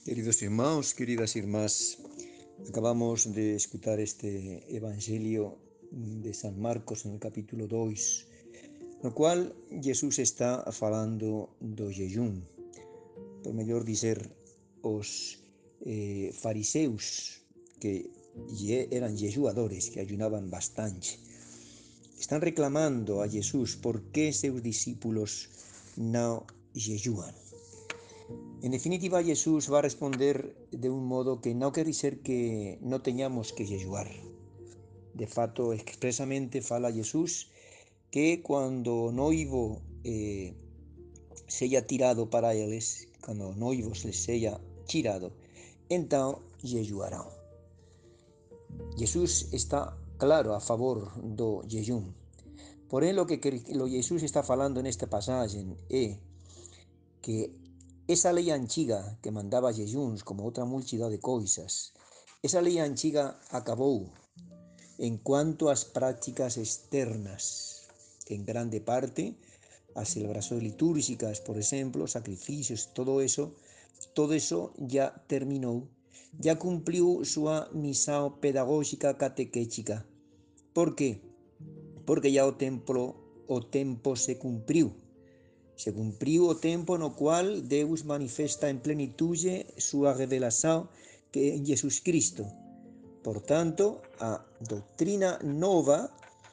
Queridos irmãos, queridas irmás, acabamos de escutar este Evangelio de San Marcos en el capítulo 2, no cual Jesús está falando do jejum, por mellor dizer, os fariseus que eran jejuadores, que ayunaban bastante, están reclamando a Jesús por que seus discípulos non jejuan. En definitiva, Jesús va a responder de un modo que no quiere decir que no teñamos que jejuar. De fato, expresamente fala Jesús que cuando o noivo sella tirado para eles, cuando o noivo se les tirado, então jejuarán. Jesús está claro a favor do jejum. Porém, lo que Jesús está falando en esta pasaje é que esa lei antiga que mandaba jejuns como outra multidão de coisas, esa lei antiga acabou en cuanto ás prácticas externas, en grande parte as celebrações litúrgicas, por exemplo, sacrificios, todo eso ya terminou, ya cumpliu súa misión pedagógica catequética. Por qué? Porque ya o tempo se cumpriu. Se cumpriu o tempo no cual Deus manifesta en plenitude súa revelación que en Jesus Cristo. Por tanto, a doutrina nova,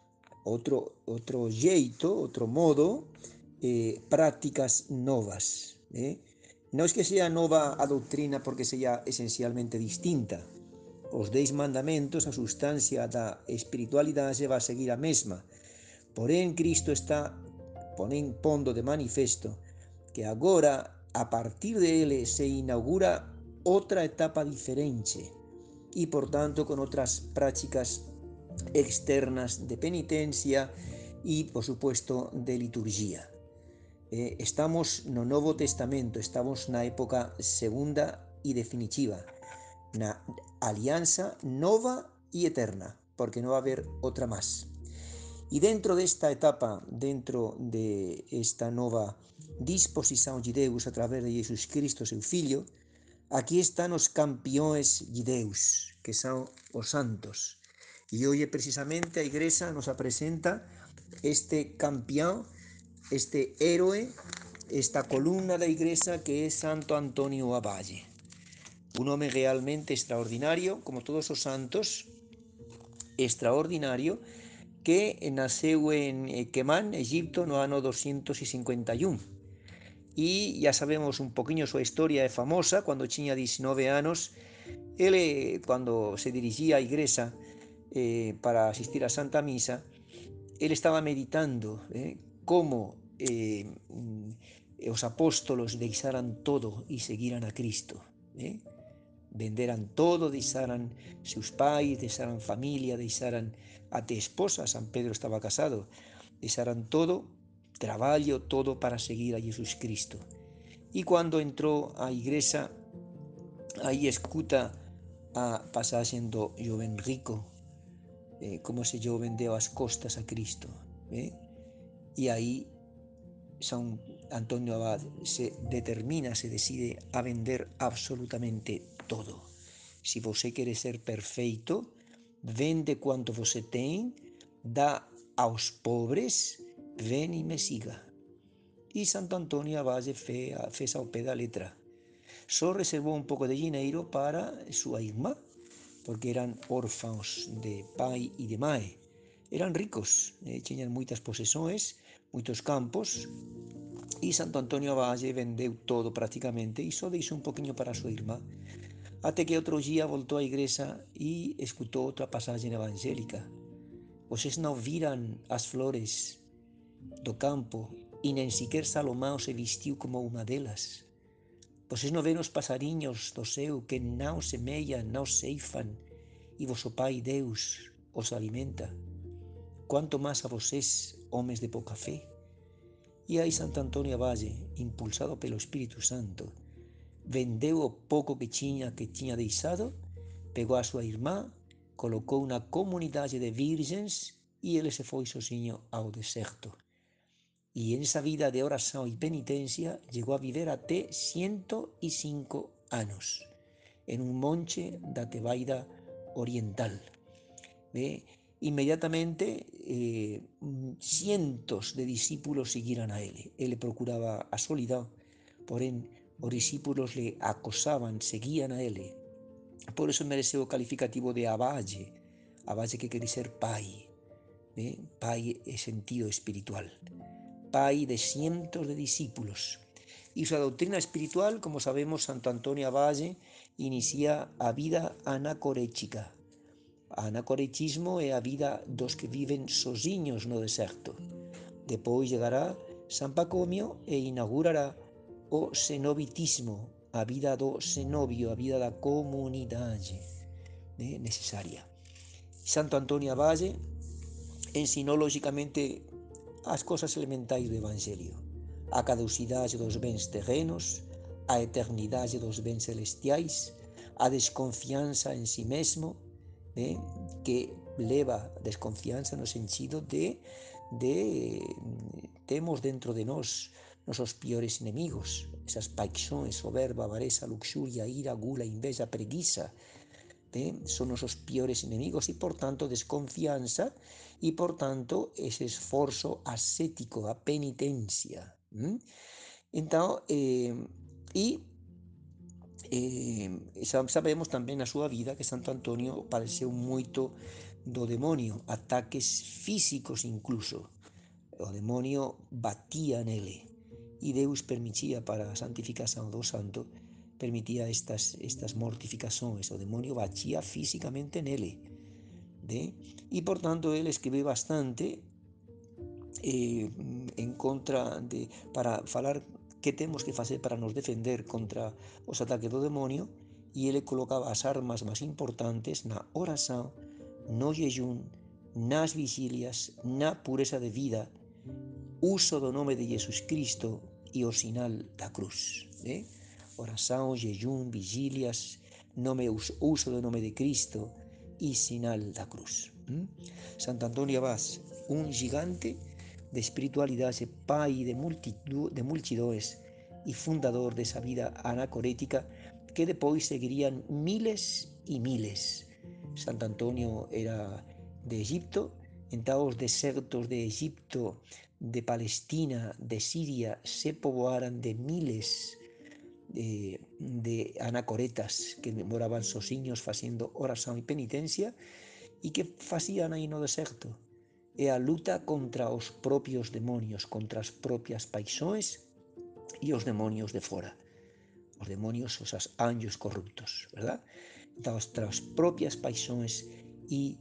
outro jeito, outro modo, prácticas novas. Non é que sea nova a doutrina porque sea esencialmente distinta. Os 10 mandamentos, a sustancia da espiritualidade va a seguir a mesma. Porén, Cristo está pondo de manifesto que agora, a partir de ele, se inaugura outra etapa diferente e, por tanto, con outras prácticas externas de penitencia e, por supuesto, de liturgia. Estamos no Novo Testamento, estamos na época segunda e definitiva, na alianza nova e eterna, porque non va a haber outra máis. E dentro desta etapa, dentro de esta nova disposición de Deus a través de Jesus Cristo, seu Fillo, aquí están os campeões de Deus, que son os santos. E hoxe precisamente a Igrexa nos apresenta este campeón, este héroe, esta columna da Igrexa que é Santo Antonio Abade. Un home realmente extraordinario, como todos os santos, extraordinario, que naceu en Quemán, Egipto, no ano 251. E ya sabemos un poquinho súa historia, é famosa. Cando tiña 19 anos, ele, cando se dirigía á igrexa para asistir á Santa Misa, ele estaba meditando como os apóstolos deixaran todo e seguiran a Cristo. Venderan todo, deixaran seus pais, deixaran familia, deixaran até esposa. San Pedro estaba casado, deixaran todo, traballo, todo para seguir a Jesus Cristo. E cando entrou á igrexa, aí escuta a pasaxe do joven rico, como ese joven deu as costas a Cristo. E aí San Antonio Abad se determina, se decide a vender absolutamente todo. Se você quer ser perfeito, vende quanto você tem, dá aos pobres, ven e me siga. E Santo Antonio Abad fez ao pé da letra. Só reservou un pouco de dinheiro para súa irmá, porque eran órfãos de pai e de mãe. Eran ricos, tiñan moitas posesións, moitos campos, e Santo Antonio Abad vendeu todo prácticamente e só deixou un poquinho para a súa irmá. Até que outro día voltou á igrexa e escutou outra pasaxe evangélica. Vocês non viran as flores do campo e nen sequer Salomão se vestiu como unha delas. Vocês non ven os pasariños do céu que non semellan, non ceifan, e vosso Pai Deus os alimenta. Quanto máis a vocês, homes de pouca fe. E aí Santo Antonio Abad, impulsado pelo Espírito Santo, vendeu o pouco que tiña deixado, pegou a súa irmá, colocou na comunidade de virgens e ele se foi sozinho ao deserto. E en esa vida de oración e penitencia llegou a viver até 105 anos, en un monte da Tebaida oriental. Inmediatamente cientos de discípulos seguiran a él. Él procuraba a soledad, porém os discípulos le acosaban, seguían a él. Por eso merece o calificativo de Abaye, Abaye que quer dizer pai, pai é sentido espiritual, pai de cientos de discípulos. E súa doutrina espiritual, como sabemos, Santo Antonio Abaye inicia a vida anacorética. Anacoretismo é a vida dos que viven sozinhos no deserto. Depois chegará San Pacomio e inaugurará o cenobitismo, a vida do cenobio, a vida da comunidade necesaria. Santo Antonio Abaye ensinou lógicamente as cousas elementais do Evangelio: a caducidade dos bens terrenos, a eternidade dos bens celestiais, a desconfianza en si mesmo, que leva desconfianza no sentido de temos dentro de nós nosos piores enemigos, esas paixões, soberba, avareza, luxuria, ira, gula, inveja, preguiça, son nosos piores enemigos e, por tanto, desconfianza e, por tanto, ese esforzo ascético, a penitencia. Então, sabemos tamén na súa vida que Santo Antonio padeceu moito do demonio, ataques físicos incluso. O demonio batía nele e Deus permitía para a santificación do santo, permitía estas mortificações. O demonio batía físicamente nele, e por tanto ele escribe bastante en contra para falar que temos que facer para nos defender contra os ataques do demonio, e ele colocaba as armas máis importantes na oración, no jejum, nas vigilias, na pureza de vida, uso do nome de Jesus Cristo e o sinal da cruz. Oração, jejum, vigílias, uso do nome de Cristo e sinal da cruz. Santo Antonio Abad, un gigante de espiritualidade, pai de multidões e fundador dessa vida anacorética que depois seguirían miles e miles. Santo Antonio era de Egipto, então os desertos de Egipto, de Palestina, de Siria se povoaran de miles de anacoretas que moraban sozinhos facendo oración e penitencia. E que facían aí no deserto? É a luta contra os propios demonios, contra as propias paixões e os demonios de fora. Os demonios, os anjos corruptos, verdad? Então, as propias paixões e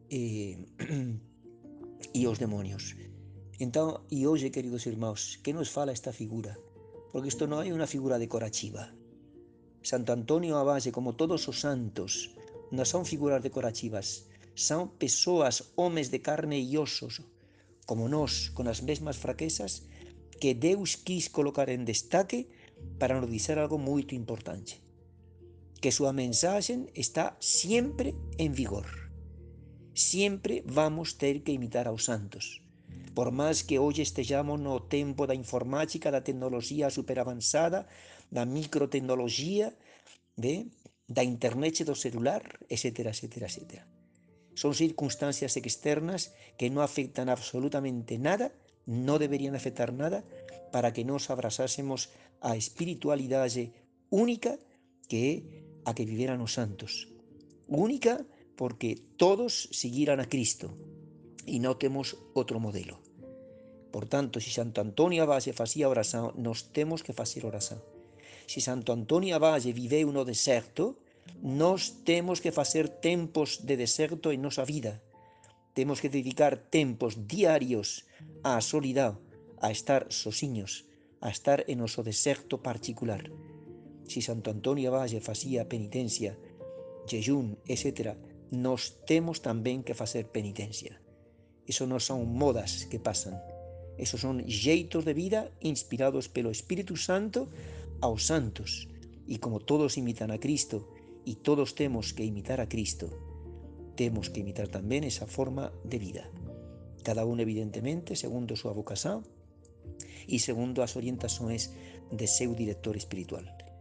os demonios. Então, e hoje, queridos irmãos, que nos fala esta figura? Porque isto non é unha figura decorativa. Santo Antonio Abad, como todos os santos, non son figuras decorativas, son persoas, homes de carne e osos, como nós, con as mesmas fraquezas, que Deus quis colocar en destaque para nos dizer algo moito importante: que súa mensaxe está sempre en vigor. Siempre vamos ter que imitar aos santos. Por máis que hoxe estejamos no tempo da informática, da tecnoloxía superavanzada, da microtecnoloxía, da internet do celular, etc, etc, etc. Son circunstancias externas que non afectan absolutamente nada, non deberían afectar nada, para que nos abrazásemos a espiritualidade única que é a que viveran os santos. Única porque todos seguiran a Cristo e non temos outro modelo. Por tanto, se Santo Antonio Abad facía oración, nos temos que facer oración. Se Santo Antonio Abad viveu no deserto, nós temos que facer tempos de deserto en nosa vida. Temos que dedicar tempos diarios á soledad, a estar sozinhos, a estar en noso deserto particular. Se Santo Antonio Abad facía penitencia, jejum, etc., nós temos tamén que facer penitencia. Eso non son modas que pasan, esos son xeitos de vida inspirados pelo Espírito Santo aos santos. E como todos imitan a Cristo e todos temos que imitar a Cristo, temos que imitar tamén esa forma de vida. Cada un, evidentemente, segundo a súa vocación e segundo as orientações de seu director espiritual.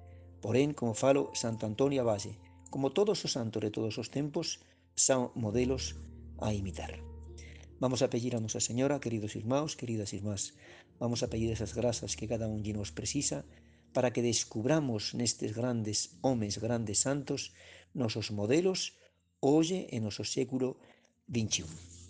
Porén, como falo, Santo Antonio Abade, como todos os santos de todos os tempos, son modelos a imitar. Vamos a pedir a Nosa Señora, queridos irmãos, queridas irmás, vamos a pedir esas grazas que cada un de nos precisa para que descubramos nestes grandes homes, grandes santos, nosos modelos, hoxe e noso século XXI.